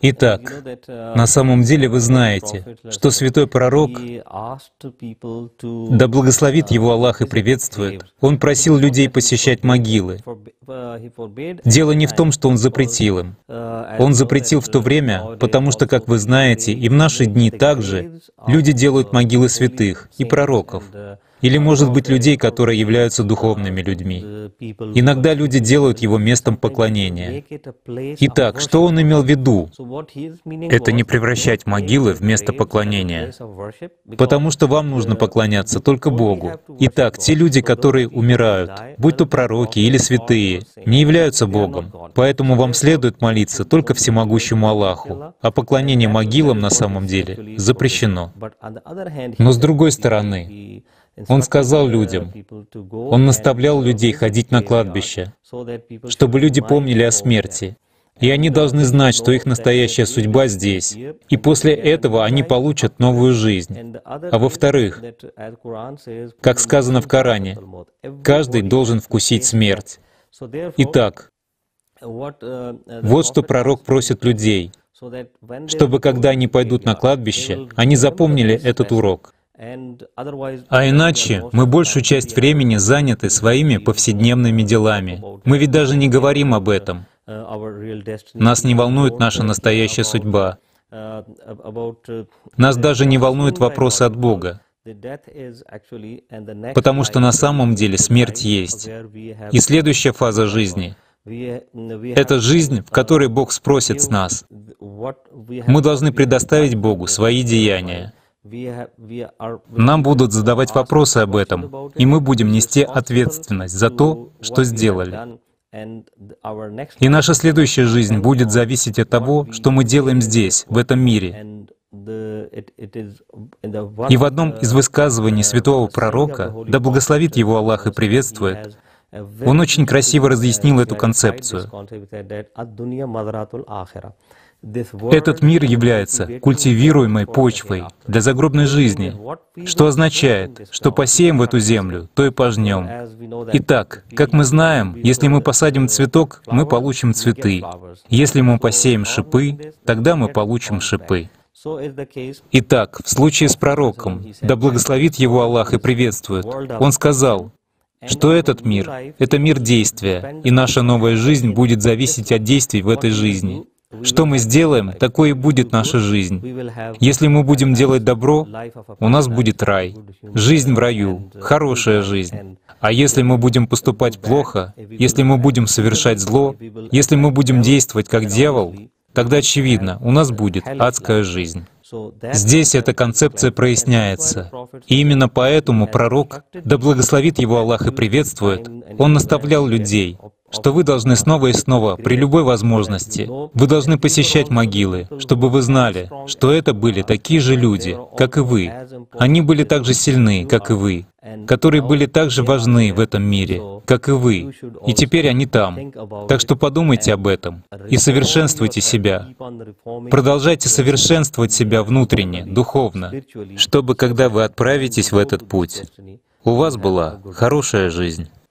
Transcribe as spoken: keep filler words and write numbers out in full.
Итак, на самом деле вы знаете, что святой пророк, да благословит его Аллах и приветствует, он просил людей посещать могилы. Дело не в том, что он запретил им. Он запретил в то время, потому что, как вы знаете, и в наши дни также люди делают могилы святых и пророков. Или, может быть, людей, которые являются духовными людьми. Иногда люди делают его местом поклонения. Итак, что он имел в виду? Это не превращать могилы в место поклонения. Потому что вам нужно поклоняться только Богу. Итак, те люди, которые умирают, будь то пророки или святые, не являются Богом. Поэтому вам следует молиться только всемогущему Аллаху. А поклонение могилам на самом деле запрещено. Но с другой стороны, он сказал людям, он наставлял людей ходить на кладбище, чтобы люди помнили о смерти. И они должны знать, что их настоящая судьба здесь. И после этого они получат новую жизнь. А во-вторых, как сказано в Коране, каждый должен вкусить смерть. Итак, вот что пророк просит людей, чтобы когда они пойдут на кладбище, они запомнили этот урок. А иначе мы большую часть времени заняты своими повседневными делами. Мы ведь даже не говорим об этом. Нас не волнует наша настоящая судьба. Нас даже не волнуют вопросы от Бога. Потому что на самом деле смерть есть. И следующая фаза жизни — это жизнь, в которой Бог спросит с нас. Мы должны предоставить Богу свои деяния. Нам будут задавать вопросы об этом, и мы будем нести ответственность за то, что сделали. И наша следующая жизнь будет зависеть от того, что мы делаем здесь, в этом мире. И в одном из высказываний святого пророка, да благословит его Аллах и приветствует, он очень красиво разъяснил эту концепцию. Этот мир является культивируемой почвой для загробной жизни, что означает, что посеем в эту землю, то и пожнем. Итак, как мы знаем, если мы посадим цветок, мы получим цветы. Если мы посеем шипы, тогда мы получим шипы. Итак, в случае с пророком, да благословит его Аллах и приветствует, он сказал, что этот мир — это мир действия, и наша новая жизнь будет зависеть от действий в этой жизни. Что мы сделаем, такой и будет наша жизнь. Если мы будем делать добро, у нас будет рай, жизнь в раю, хорошая жизнь. А если мы будем поступать плохо, если мы будем совершать зло, если мы будем действовать как дьявол, тогда очевидно, у нас будет адская жизнь. Здесь эта концепция проясняется. И именно поэтому пророк, да благословит его Аллах и приветствует, он наставлял людей, что вы должны снова и снова, при любой возможности, вы должны посещать могилы, чтобы вы знали, что это были такие же люди, как и вы. Они были так же сильны, как и вы, которые были так же важны в этом мире, как и вы. И теперь они там. Так что подумайте об этом и совершенствуйте себя. Продолжайте совершенствовать себя внутренне, духовно, чтобы, когда вы отправитесь в этот путь, у вас была хорошая жизнь.